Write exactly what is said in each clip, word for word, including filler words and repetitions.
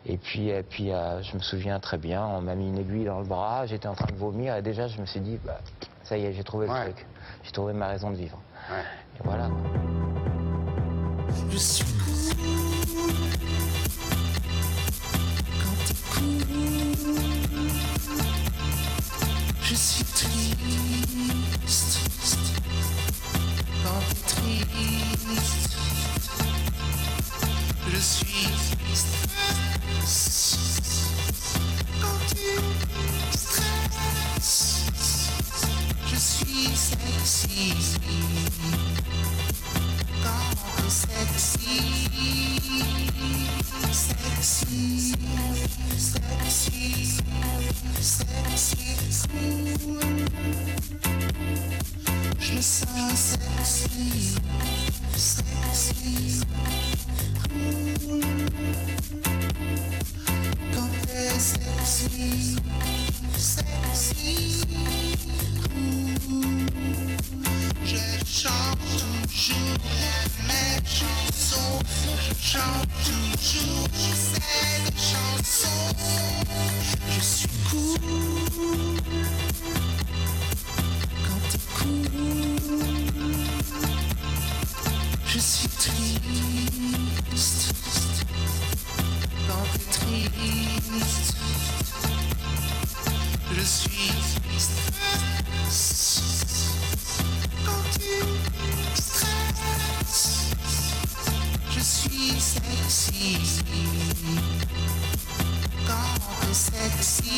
Et puis, et puis euh, je me souviens très bien, on m'a mis une aiguille dans le bras, j'étais en train de vomir et déjà je me suis dit, bah, ça y est, j'ai trouvé Ouais. le truc. J'ai trouvé ma raison de vivre. Ouais. Et voilà. Je suis cool quand t'es cool. Je suis triste quand t'es triste. Je suis stress quand tu stresses. Je suis sexy quand t'es sexy. Sexy, sexy, sexy, cool. Je me sens sexy, sexy, cool. Quand t'es sexy, sexy, cool. Je chante toujours les mêmes chansons. Je chante toujours ces chansons. Je suis cool quand t'es cool. Je suis triste quand t'es triste. Je suis stress quand tu stresses. Je suis sexy quand t'es sexy.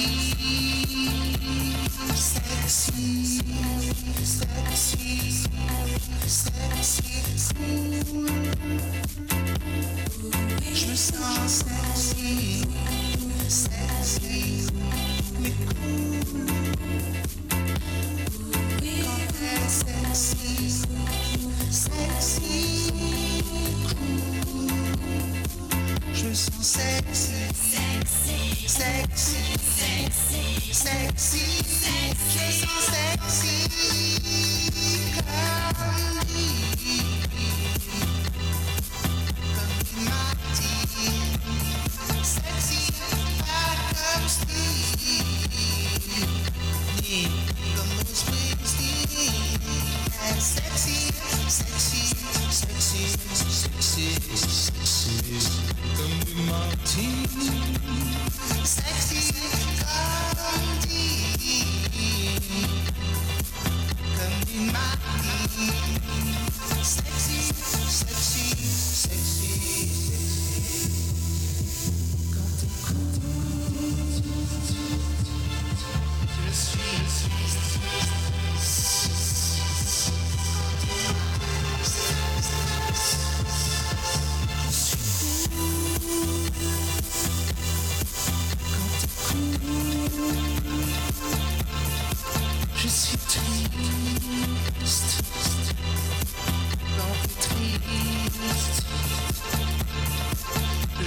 Sexy, sexy, sexy, cool. Je me sens sexy, sexy, mais cool. Quand t'es sexy, sexy, cool. Je me sens sexy, sexy, sexy, sexy, sexy, je me sens sexy comme lui, comme Martin, sexy pas comme Steve, ni comme Bruce Springsteen. Sexy, sexy, sexy, sexy, sexy comme du Martin. Sexy comme Dee, comme du Martin. Sexy, sexy, sexy, quand t'es cool. Je suis Je suis triste quand t'es triste. Je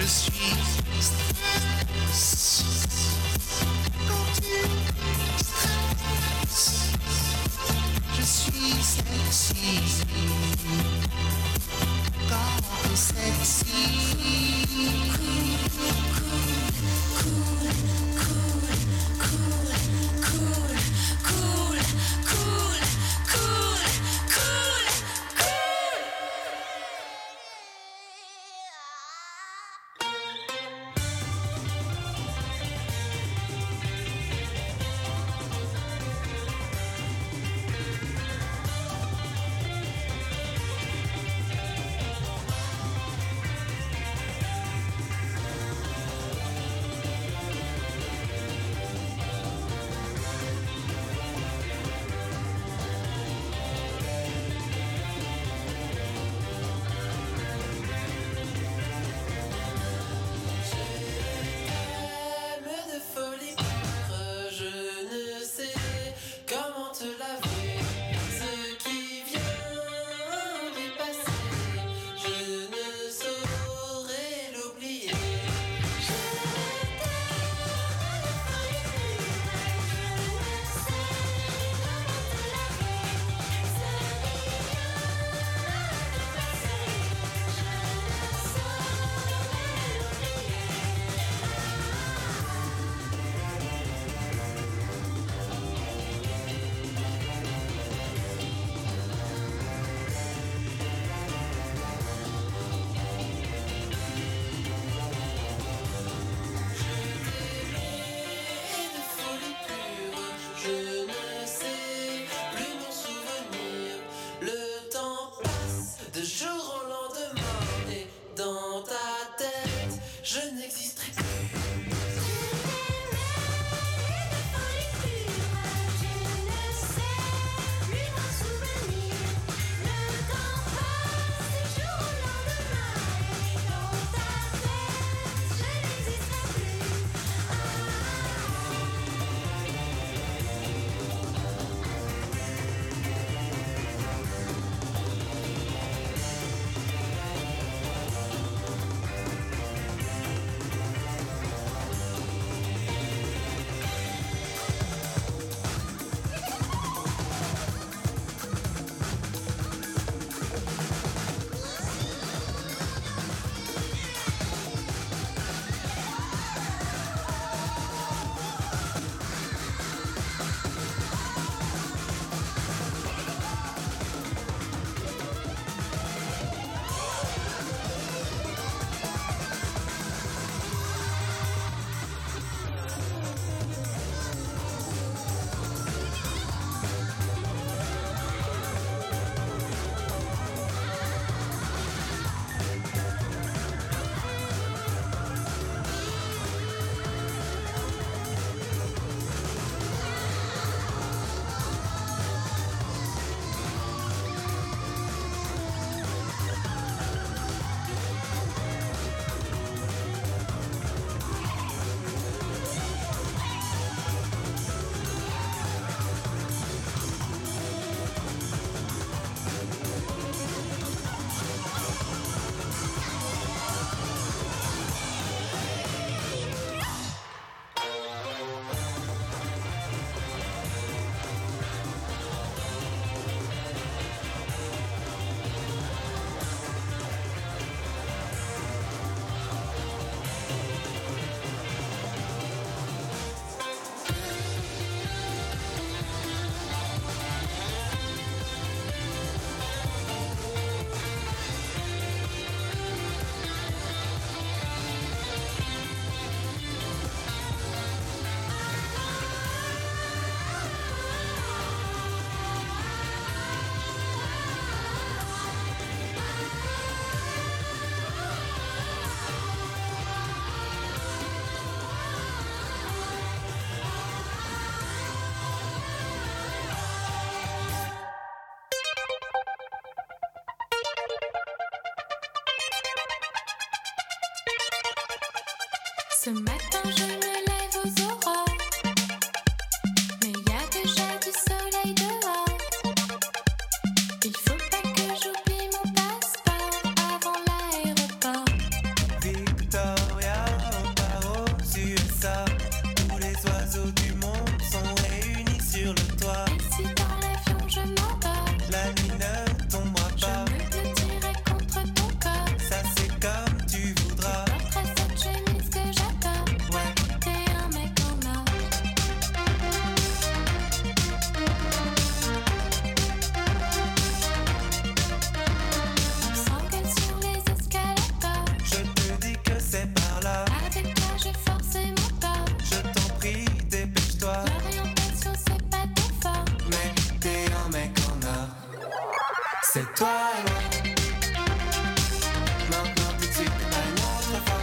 suis très contente. Ce matin je me lève aux aurores, mais y a déjà du soleil dehors. Il faut pas que j'oublie mon passeport avant l'aéroport. Victoria, on part aux U S A. Tous les oiseaux du monde sont réunis sur le toit. Et si dans l'avion je m'endors, La nuit ne tombera je pas. me blottirai contre ton corps. Ça c'est comme tu voudras. Porterai cette chemise que j'adore. Ouais, T'es un mec en or. On s'engueule sur les escalators. je te dis que c'est par là. Avec toi j'ai forcé mon corps. Je t'en prie, dépêche-toi. L'orientation c'est pas ton fort. Mais t'es un mec en or. C'est toi et moi. Maintenant tout de suite, pas une autre fois.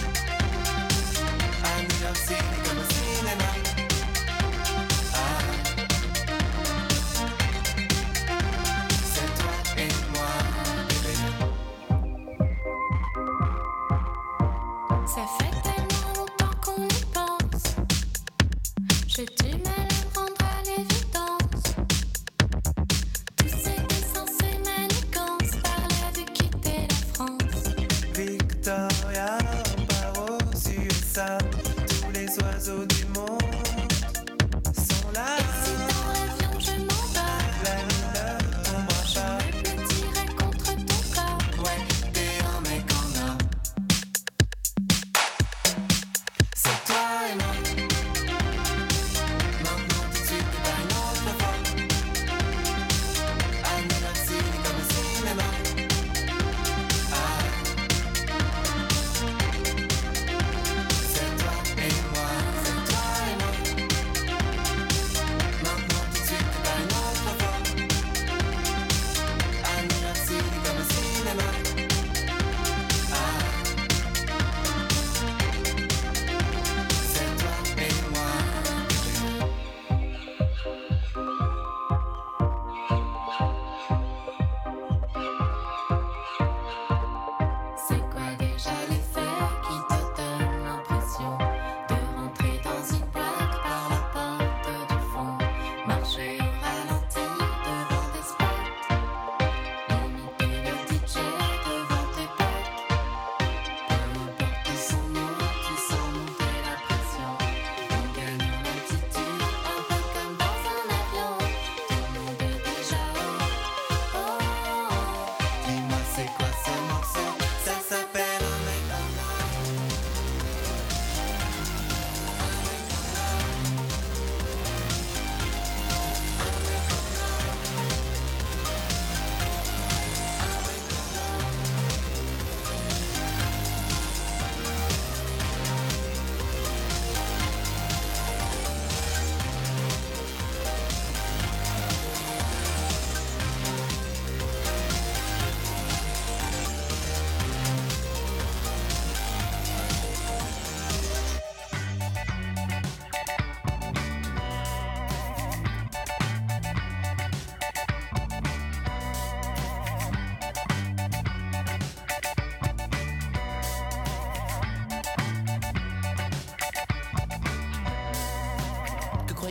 À New York City comme au cinéma. Ah. C'est toi et moi, bébé. Ça fait tellement longtemps qu'on y pense. J'ai du mal à me rendre à l'évidence. Tous ces dessins, ces manigances par là de quitter la France. Victoria, on part aux U S A. Tous les oiseaux du monde sont là. Et si dans l'avion je m'endors, La nuit ne tombera je pas. me blottirai contre ton corps. Ouais, t'es un mec en or. C'est toi et moi. Maintenant tout de suite, pas une autre fois. À New York City comme au cinéma. Ah. C'est toi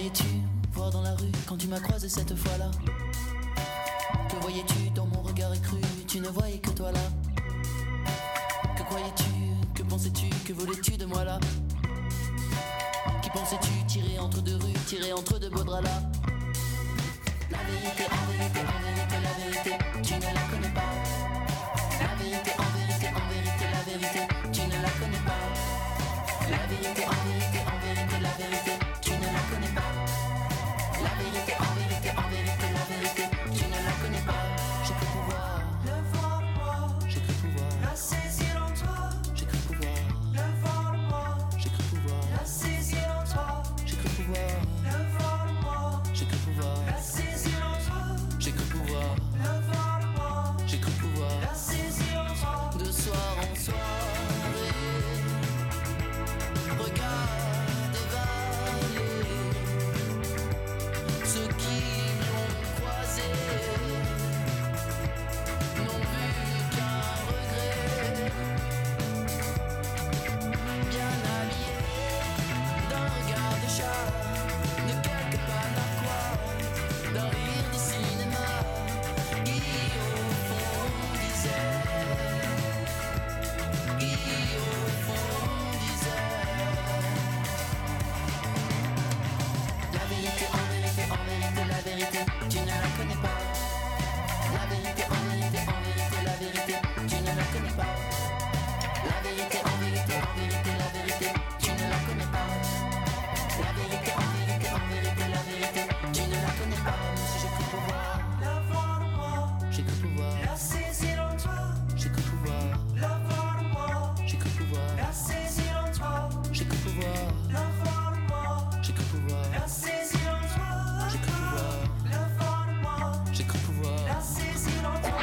croyais-tu voir dans la rue quand tu m'as croisé cette fois-là? Que voyais-tu dans mon regard écru? Tu ne voyais que toi là. Que croyais-tu? Que pensais-tu? Que voulais-tu de moi là? Qui pensais-tu tirer entre deux rues, tirer entre deux beaux draps là? La vérité, en vérité, en vérité, la vérité, tu ne la connais pas. La vérité, en vérité, en vérité, la vérité, tu ne la connais pas. La vérité, en vérité, en vérité, la vérité, tu ne la connais pas. La vérité, en vérité, en vérité, la vérité, tu ne la connais pas. J'ai cru pouvoir le voir moi, j'ai cru pouvoir la saisir en toi, j'ai cru pouvoir le voir moi, j'ai cru pouvoir la saisir en toi, j'ai cru pouvoir le voir moi, j'ai cru pouvoir la saisir en toi, j'ai cru pouvoir le voir moi, j'ai cru pouvoir la saisir en toi. De soir en soirée, regarde dévaler ceux qui l'ont croisé n'ont vu qu'un regret. Bien habillé d'un regard de chat, de quelques pas narquois, d'un rire de cinéma, qui au fond disait, qui au fond disait. La vérité, en vérité, en vérité, la vérité, tu ne la connais pas. La vérité, en vérité, en vérité, la vérité, tu ne la connais pas. La vérité, en vérité, en vérité, la vérité, tu ne la connais pas. La vérité, en vérité, en vérité, la vérité, tu ne la connais pas. Même si j'ai cru pouvoir la voir moi, j'ai cru pouvoir la saisir en toi, j'ai cru pouvoir la voir moi, j'ai cru pouvoir la saisir en toi, j'ai cru pouvoir la voir moi, j'ai cru pouvoir la saisir en toi, j'ai cru pouvoir la voir moi, j'ai cru pouvoir la saisir en toi.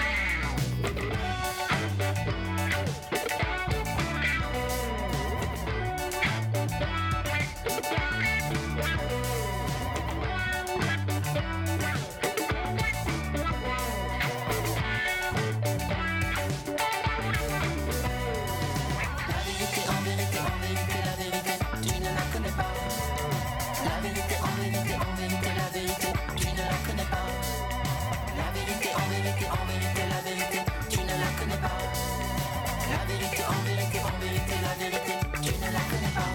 La vérité, en vérité, en vérité, la vérité, tu ne la connais pas. La vérité, en vérité, en vérité, la vérité, tu ne la connais pas. La vérité, en vérité, en vérité, la vérité, tu ne la connais pas. La vérité, en vérité, en vérité, la vérité, tu ne la connais pas.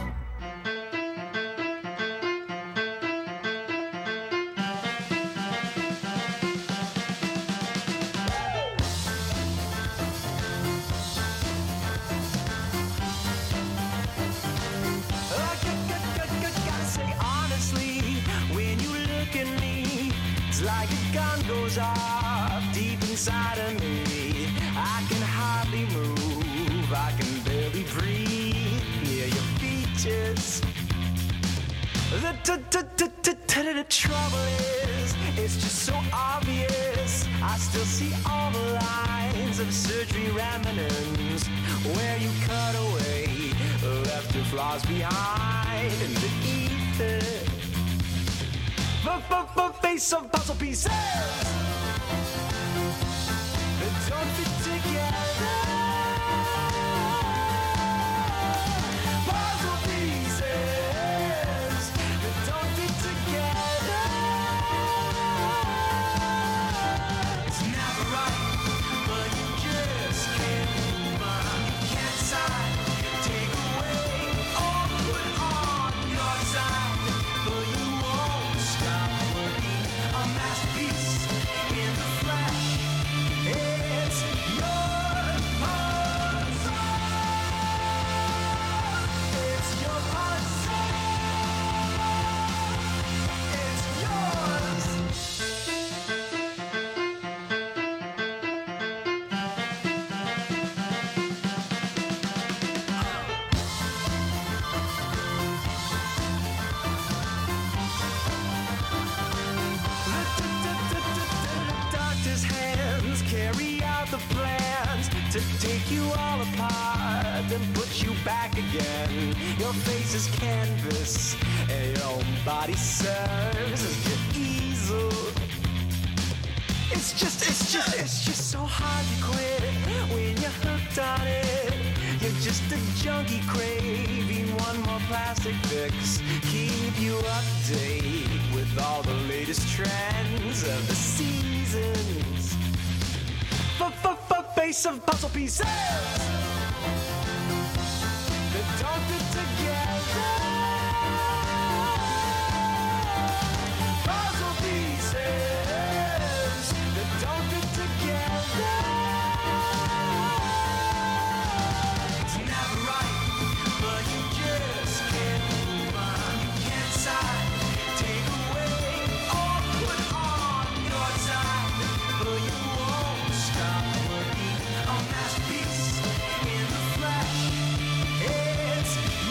Gotta say honestly, when you look at me, it's like a gun goes off deep inside of me. I can hardly move, I can barely breathe near your features. The t- t- t- t- t- the trouble is, it's just so obvious. I still see all the lines of surgery remnants where you cut away, left your flaws behind in the ether. Face of puzzle pieces that don't fit together. Puzzle pieces that don't fit together. It's never right, but you just can't move on. Can't decide, take away or put on your side, but you won't stop working. A masterpiece in the flesh. It's your puzzle. It's your puzzle. It's yours. The doctor's hands carry out the plans to take you all apart and put you back again. Your face is canvas and your own body serves as your easel. It's just, it's just, it's just so hard to quit when you're hooked on it. You're just a junkie craving one more plastic fix. Keep you updated with all the latest trends of the seasons. F-f-f-face of puzzle pieces that don't fit together. Puzzle pieces that don't fit together. It's never right, but you just can't move on. You can't decide, take away or put on your time, but you won't stop working a masterpiece in the flesh. It's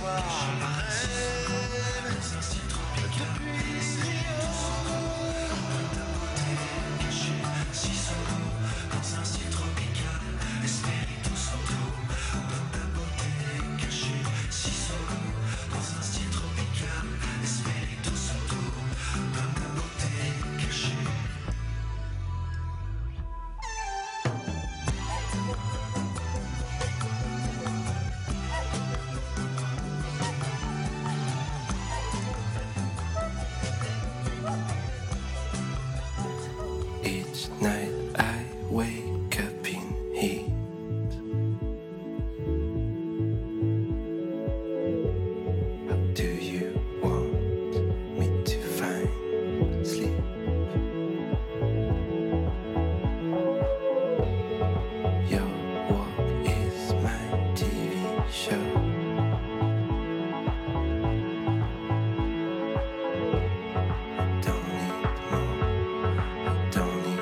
soir, je rêve depuis Rio. Si solo, dans un style tropical, Espirito Santo, donne ta beauté cachée. Si solo, dans un style tropical, Espirito Santo, donne ta beauté cachée. Each night I wake up in heat. How do you want me to find sleep? Your walk is my T V show. I don't need more. I don't need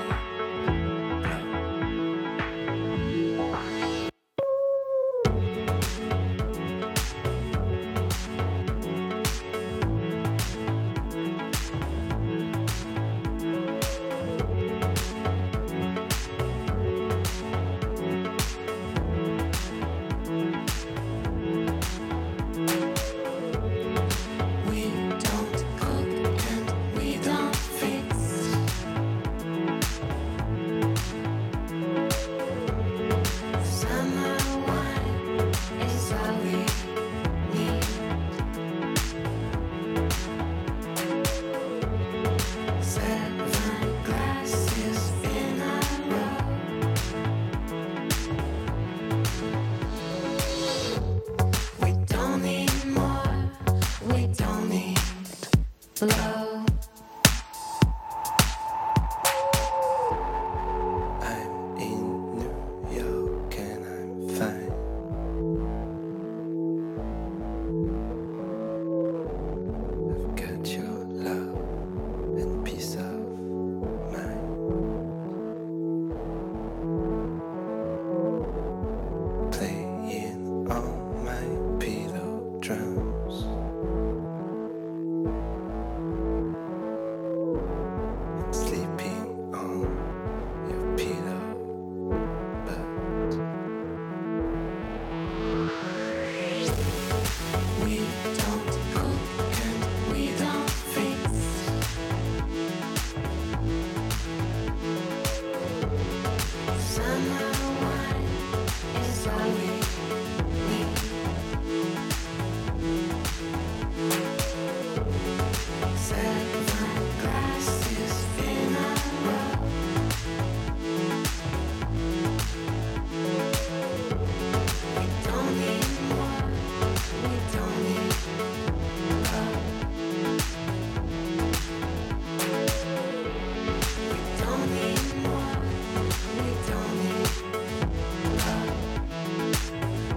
We don't cook and we don't fix. Summer wine is all we need. Seven glasses in a row. We don't need more. We don't need low. I'm in New York and I'm fine. I've got your love and peace of mind. Playing on my pillow drums. And sleeping on your pillow. But we don't cook and we don't fix. Summer wine is all we need. Seven glasses in a row. We don't need more. We don't need love. We don't need more. We don't need love.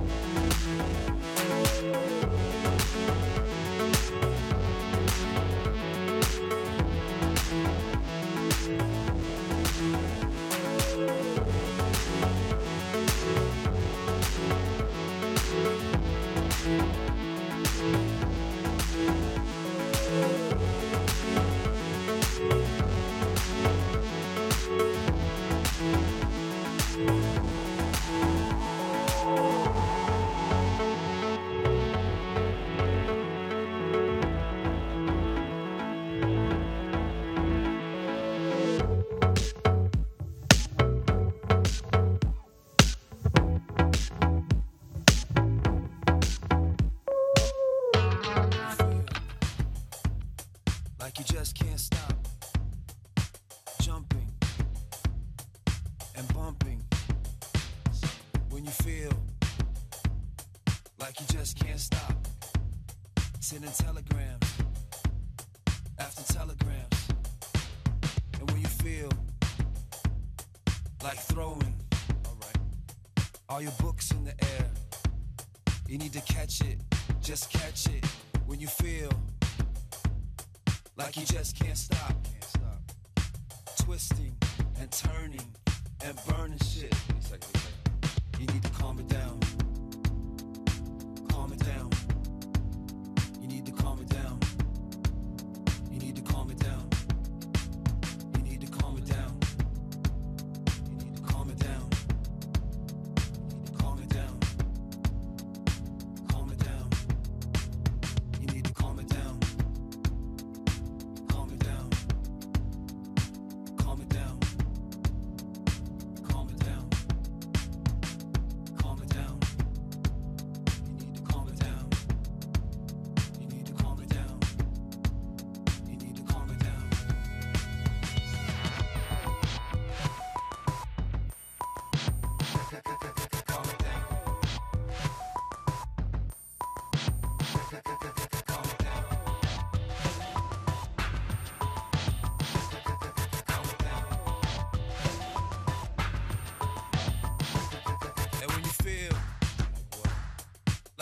Like you just can't stop jumping and bumping when you feel like you just can't stop sending telegrams after telegrams, and when you feel like throwing all right all your books in the air, you need to catch it, just catch it when you feel like you just can't stop, can't stop. Twisting and turning and burning shit. You need to calm it down. Calm it down.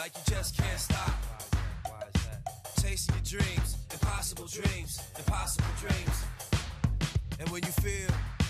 like you just can't stop. Chasing your dreams, impossible dreams, impossible dreams. And when you feel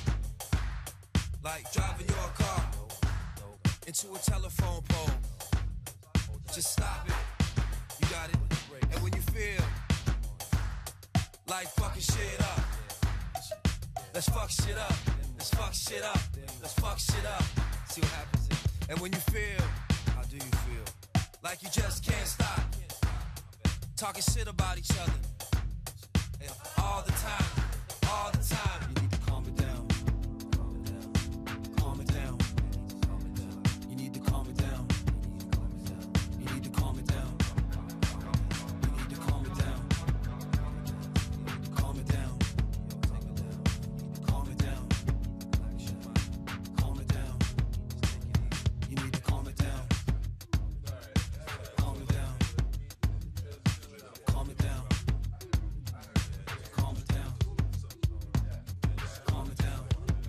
like driving your car into a telephone pole, just stop it. You got it. And when you feel like fucking shit up, let's fuck shit up. Let's fuck shit up. Let's fuck shit up. See what happens. And when you feel, how do you feel? Like you just can't stop talking shit about each other. And all the time, all the time. You need to calm it down. Calm it down. You need to calm it down. You need to calm it down. You need to calm it down. Calm it down. Calm it down. Calm it down. You need to calm it down. Calm it down. Calm it down. Calm it down. Calm it down.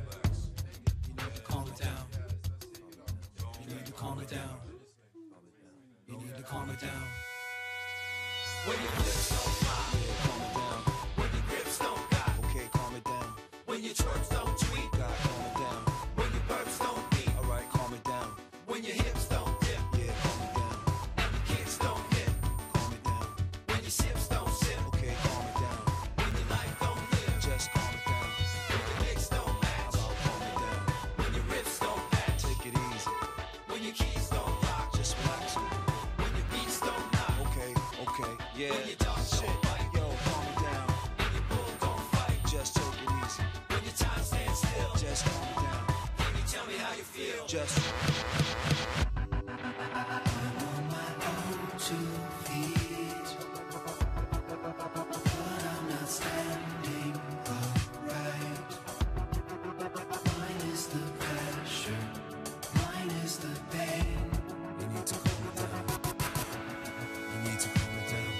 You need to calm it down. You need to calm it down. You need to calm it down. When your lips don't fly, calm it down. When your grips don't got, okay, calm it down. When your twerps don't tweet, God, calm it down. When your burps don't beat, alright, calm it down. When your hips don't dip, yeah, calm it down. And your kicks don't hit, calm it down. When your sips don't sip, okay, calm it down. When your life don't live, just calm it down. When your mix don't match, about calm it down. When your rips don't patch, take it easy. When your keys don't lock, just relax. When your beats don't knock, okay, okay, yeah. When your dog shit, yo, calm it down. And your bull don't fight, just take it easy. When your time stands still, just calm it down. Can you tell me how you feel? Just. I'm on my own two feet, but I'm not standing upright. Mine is the pressure, mine is the pain. You need to calm it down. You need to calm it down.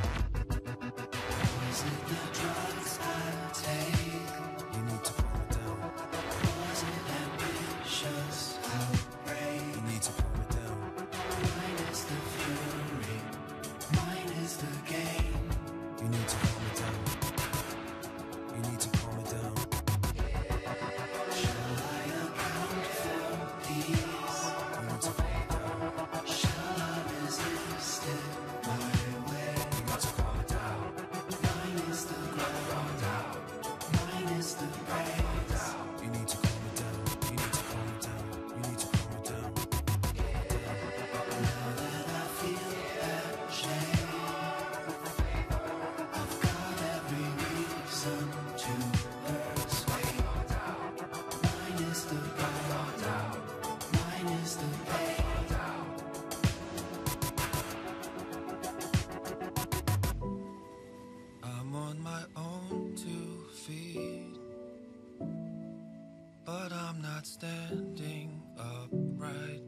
Is it the drugs I take? You need to calm it down. Was it ambitious outbreak? You need to calm it down. Mine is the fury, mine is the game. You need to calm it down. You need to calm it down. Shall I account for these? You need to calm it down. Shall I resist it my way? You need to calm it down. Mine is the ground, mine is the praise. You need to calm it down. You need to calm it down. You need to calm it down. Now that I feel that shame, I've got every reason to persuade. Mine is the ground, mine is the pain. I'm on my own two feet, but I'm not standing upright.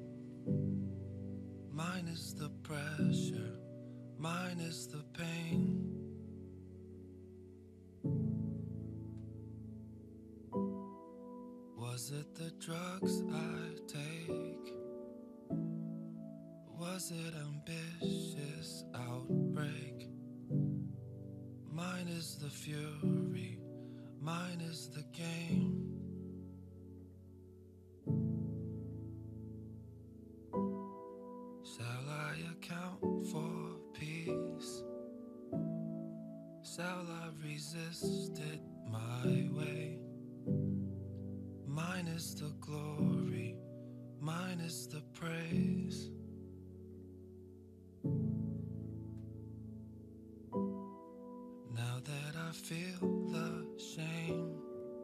Mine is the pressure, mine is the pain. Was it the drugs I take? Was it ambitious outbreak? Mine is the fury, mine is the game. Shall I account for peace? Shall I resist it my way? Mine is the glory, mine is the praise. Now that I feel the shame,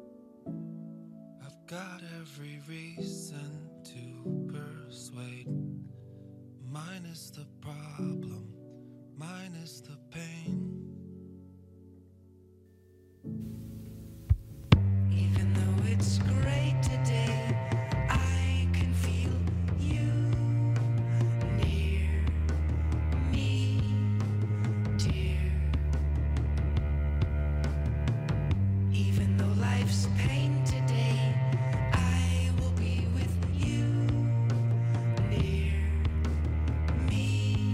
I've got every reason to persuade. Mine is the problem, mine is the pain. Even though it's great today, I can feel you near me, dear. Even though life's pain today, I will be with you near me,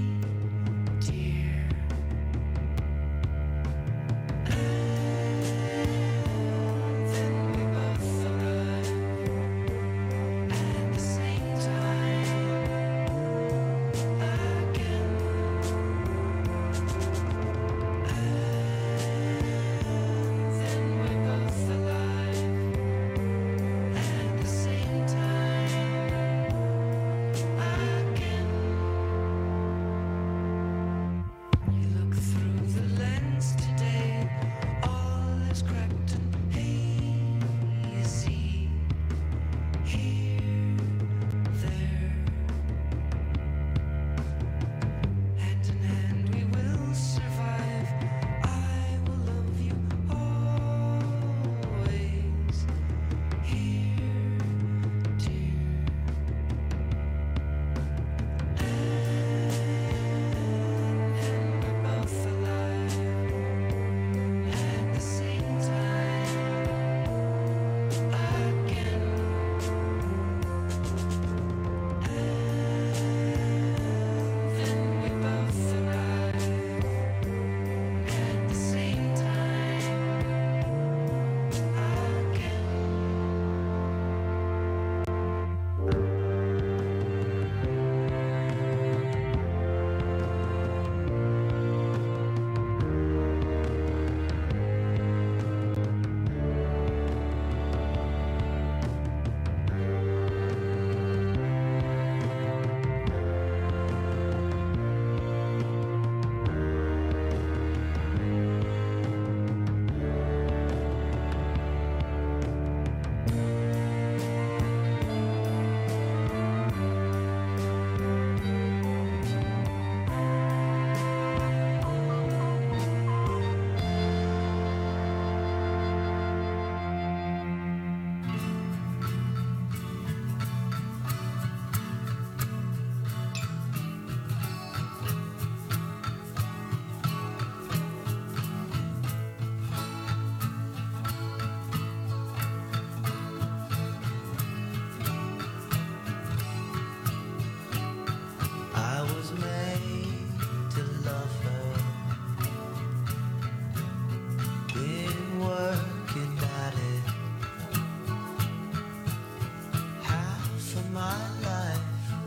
my life.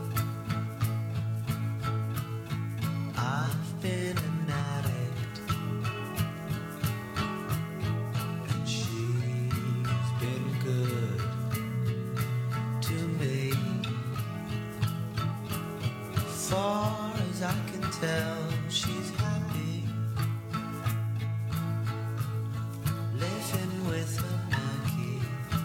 I've been an addict, and she's been good to me. Far as I can tell, she's happy, living with her Maggie.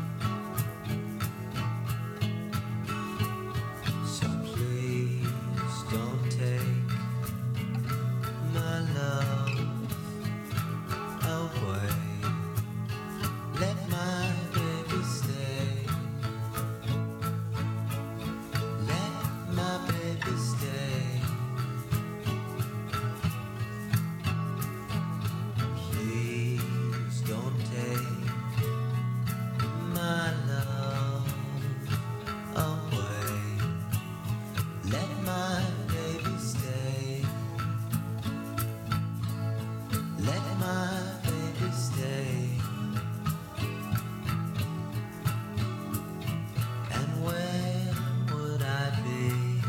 So please don't take my love away. Let my baby stay. Let my baby stay. Please don't take my love away. Let my baby stay. Let my baby stay. And where would I be?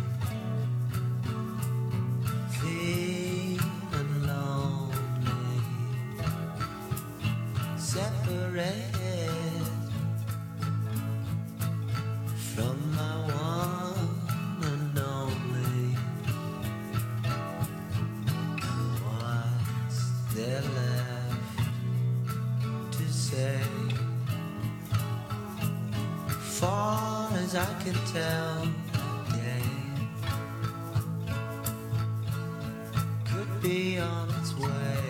Feeling lonely, separated from my one and only. And what's there left to say? Far as I can tell, the game could be on its way.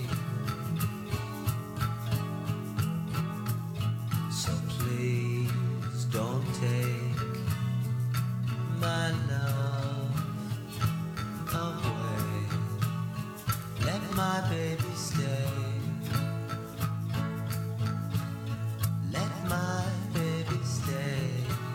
So please don't take my love away. Let my baby stay. Let my baby stay.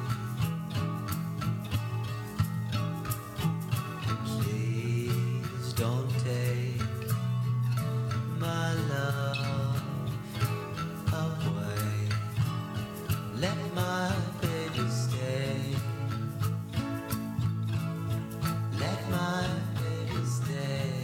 Please don't take my love away. Let my baby stay. Let my baby stay.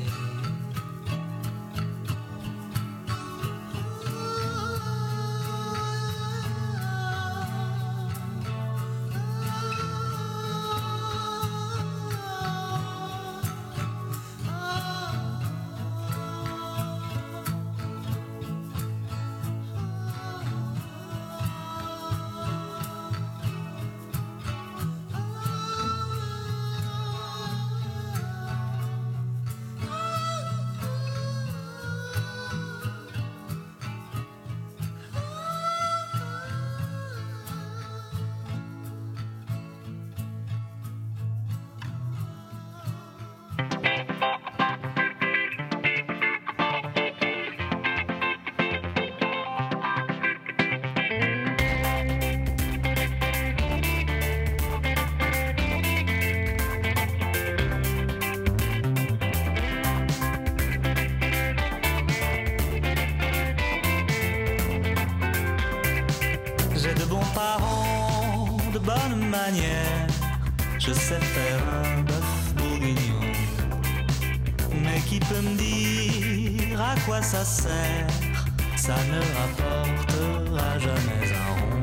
J'ai de bons parents, de bonnes manières. Je sais faire un bœuf bourguignon. Mais qui peut me dire à quoi ça sert? Ça ne rapportera jamais un rond.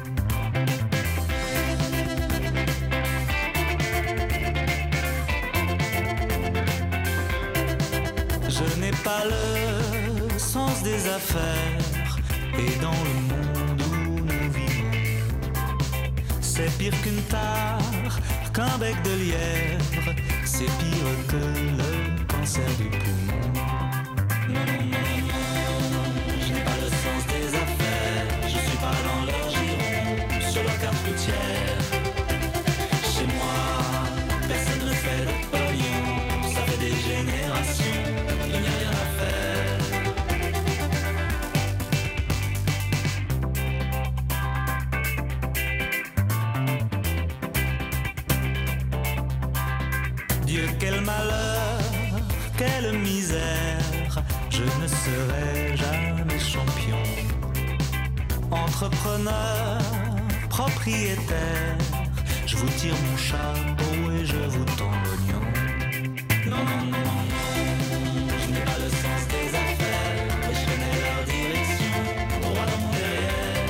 Je n'ai pas le sens des affaires. Et dans le monde où nous vivons, c'est pire qu'une tare, qu'un bec de lièvre. C'est pire que le cancer du poumon. Non, non, non, non, je n'ai pas le sens des affaires. Je suis pas dans leur giron, sur leur carte routière. Chez moi, personne ne fait de pognon. Ça fait des générations, il n'y a rien à faire. Dieu, quel malheur, quelle misère, je ne serai jamais champion. Entrepreneur, propriétaire, je Je vous tire mon chapeau et je vous tends l'oignon. Non, non, non, non, non, je n'ai pas le sens des affaires, mais je connais leur direction, droit dans mon derrière.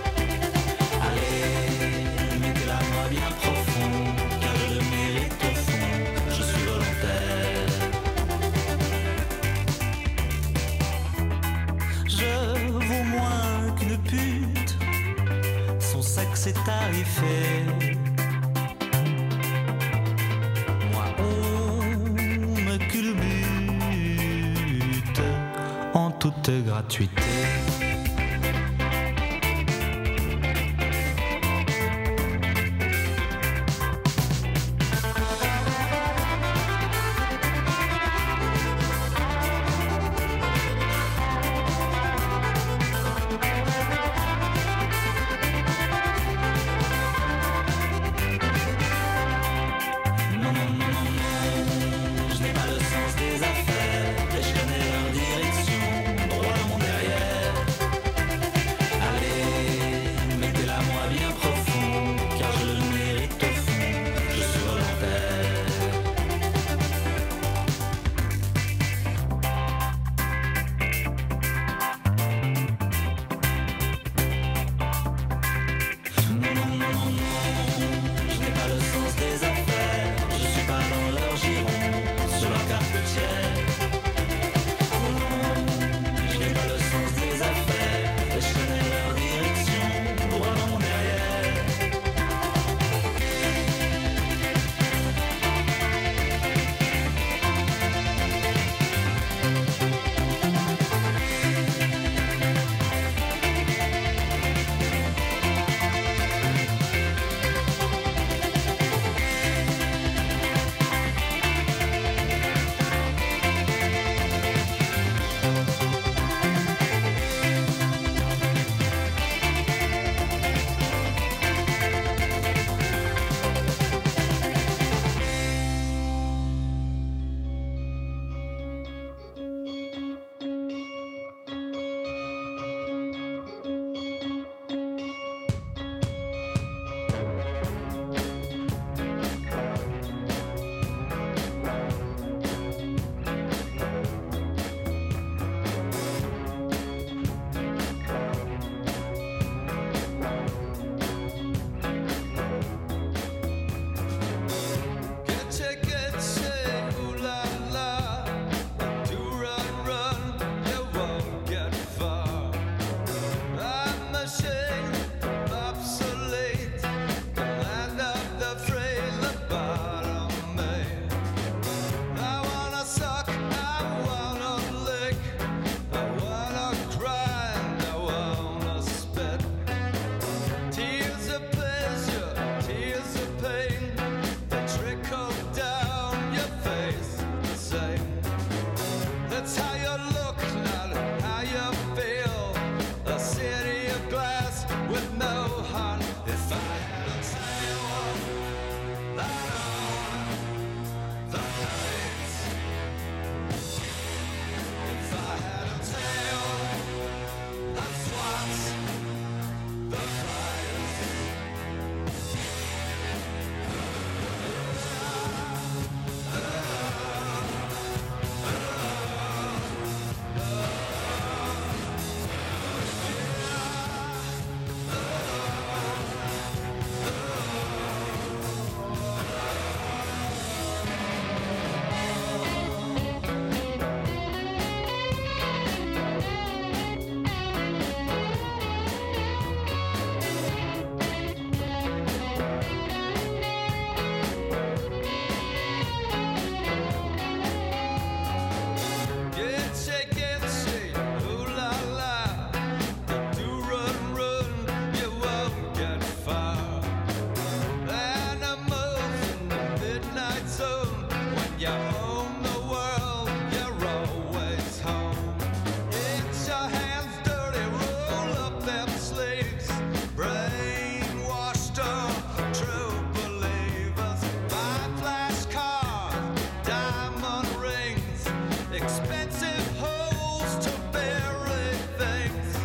Allez, mettez-la moi bien profond, car je le mérite au fond, je suis volontaire. Je vaux moins qu'une pute, son sexe est tarifé. Moi on me culbute en toute gratuité.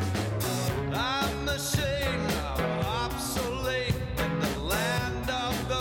of the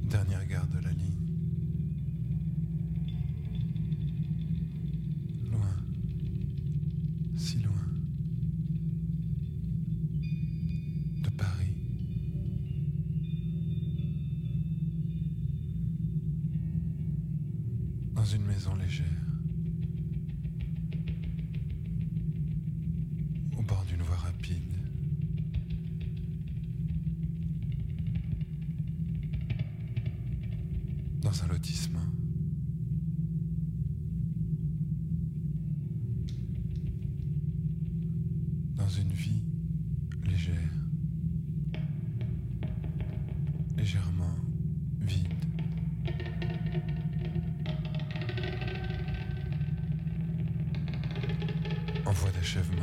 Dernière gare de la ligne. Loin, si loin, de Paris. Dans une maison légère, au bord d'une voie rapide. Dans un lotissement. Dans une vie légère. Légèrement vide. En voie d'achèvement.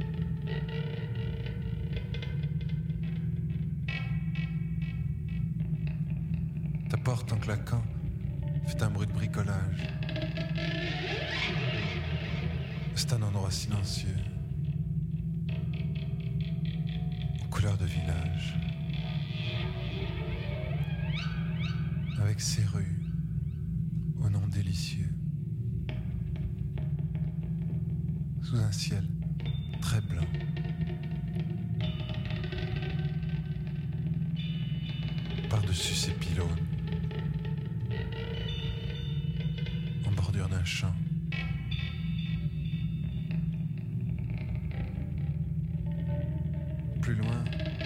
Ta porte en claquant fait un bruit de bricolage. C'est un endroit silencieux, aux couleurs de village, avec ses rues au nom délicieux, sous un ciel très blanc. Par-dessus ces pylônes, en bordure d'un champ, plus loin,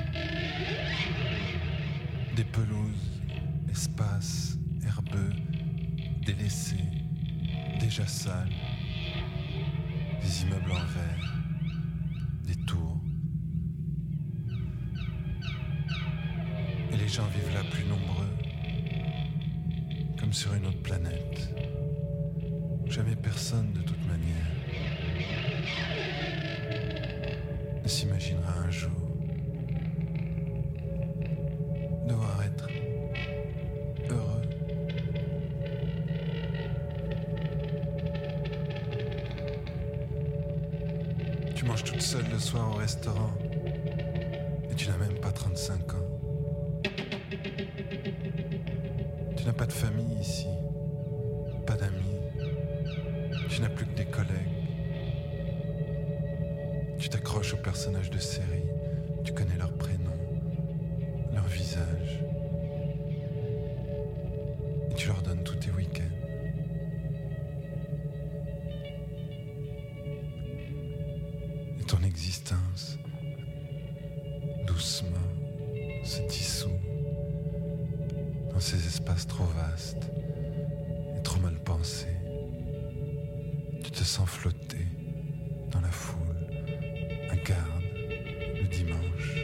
des pelouses, espaces herbeux, délaissés, déjà sales, des immeubles en verre, des tours. Et les gens vivent là plus nombreux, comme sur une autre planète. Jamais personne, de toute manière, ne s'imaginera un jour devoir être heureux. Tu manges toute seule le soir au restaurant et tu n'as même pas trente-cinq ans. Tu n'as pas de famille ici, pas d'amis, tu n'as plus que des collègues. Tu t'accroches aux personnages de série, tu connais leurs prénoms, leurs visages, et tu leur donnes tous tes week-ends. Et ton existence, doucement, se dissout dans ces espaces trop vastes et trop mal pensés. Tu te sens flotter dans la foule, un garde, le dimanche,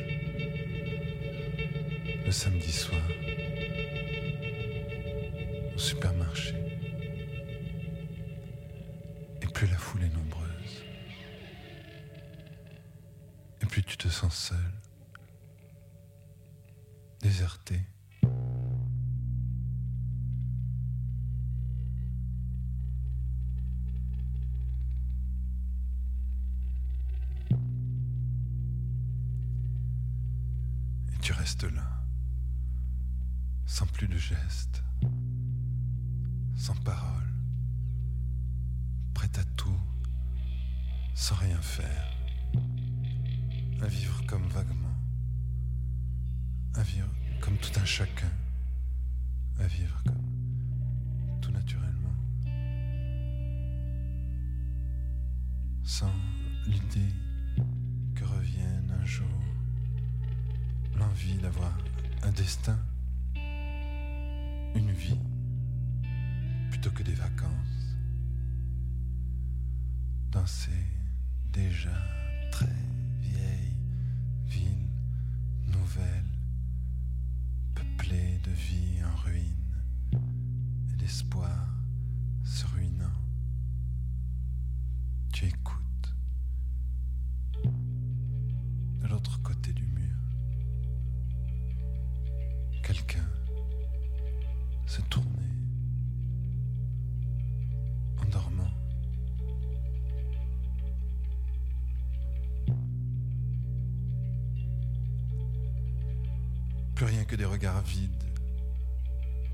le samedi soir, au supermarché. Et plus la foule est nombreuse, et plus tu te sens seul, déserté. Tu restes là, sans plus de gestes, sans parole, prête à tout, sans rien faire, à vivre comme vaguement, à vivre comme tout un chacun, à vivre comme tout naturellement, sans l'idée que revienne un jour l'envie d'avoir un destin, une vie, plutôt que des vacances, dans ces déjà très vieilles villes nouvelles, peuplées de vie en ruine et d'espoir se ruinant. Tu écoutes de l'autre côté du mur. Quelqu'un se tournait en dormant. Plus rien que des regards vides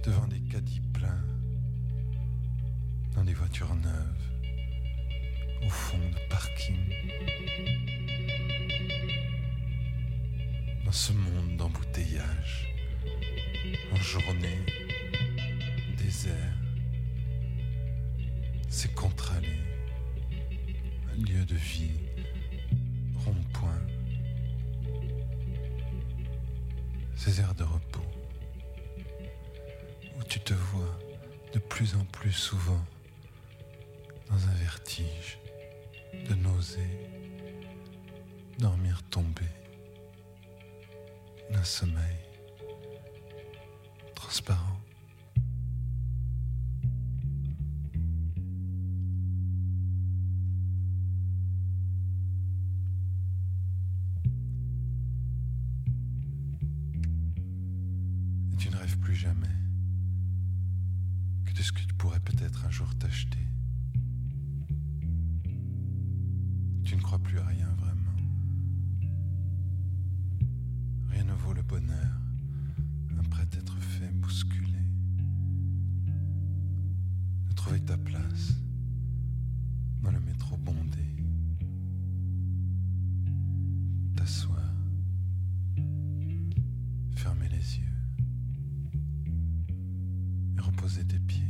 devant des caddies pleins, dans des voitures neuves, au fond de parking. Dans ce monde d'embouteillage, en journée, désert, c'est contre-allée, un lieu de vie, rond-point, ces aires de repos, où tu te vois de plus en plus souvent dans un vertige de nausée, dormir tombé d'un sommeil transparent. Et tu ne rêves plus jamais que de ce que tu pourrais peut-être un jour t'acheter. Tu ne crois plus à rien vraiment. Rien ne vaut le bonheur, après t'être fait bousculer. De trouver ta place dans le métro bondé. T'asseoir, fermer les yeux et reposer tes pieds.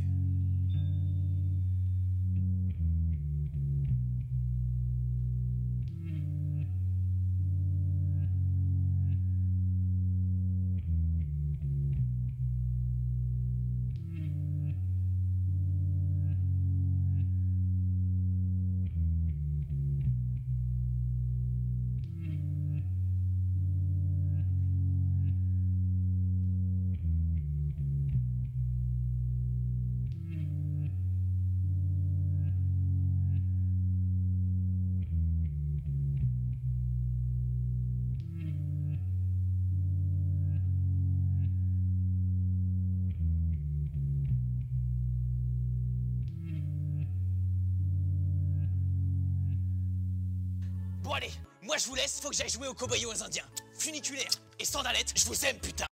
Bon allez, moi je vous laisse, faut que j'aille jouer aux cow-boys et aux indiens. Funiculaire et sandalettes, je vous aime putain.